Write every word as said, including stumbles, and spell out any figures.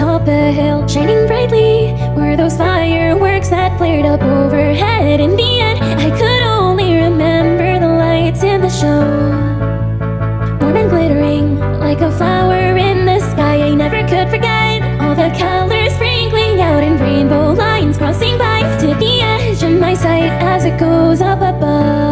atop a hill, shining brightly were those fireworks that flared up overhead. In the end, I could only remember the lights in the show, warm and glittering like a flower in the sky. I never could forget all the colors sprinkling out in rainbow lines, crossing by to the edge of my sight as it goes up above.